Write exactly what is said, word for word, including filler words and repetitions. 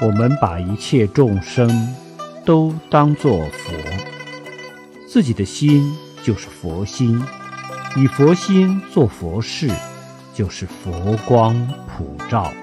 我们把一切众生都当作佛，自己的心就是佛心，以佛心做佛事，就是佛光普照。